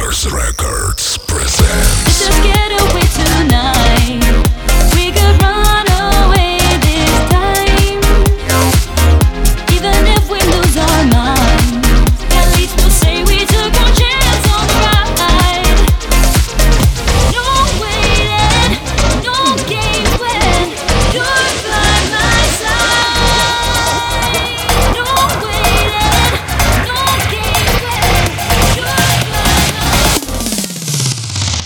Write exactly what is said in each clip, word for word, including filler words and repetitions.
Clubmasters Records presents. Let's just get away tonight. We could run away this time. Even if we lose our minds, at least we'll say we took our chance on the ride. No waiting, no games when you're by my side. No waiting, no games when you're by my side.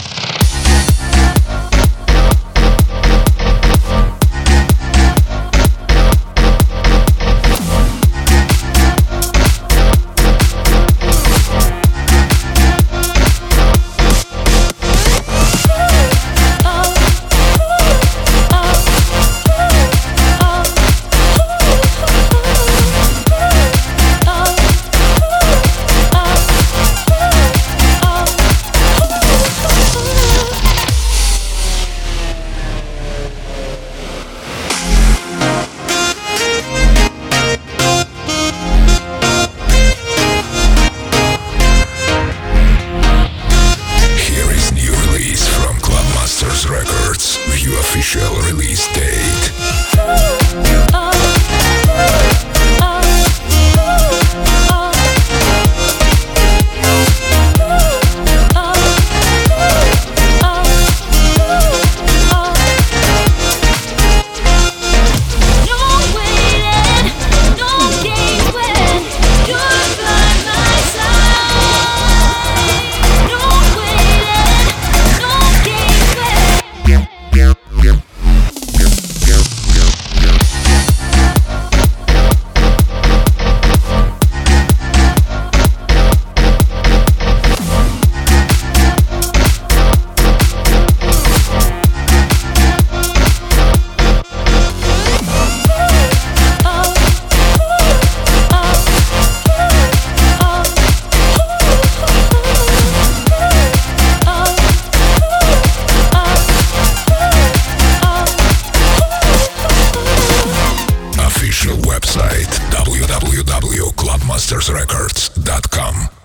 Here is new release from Clubmasters Records. View official release date. Official website w w w dot clubmasters records dot com.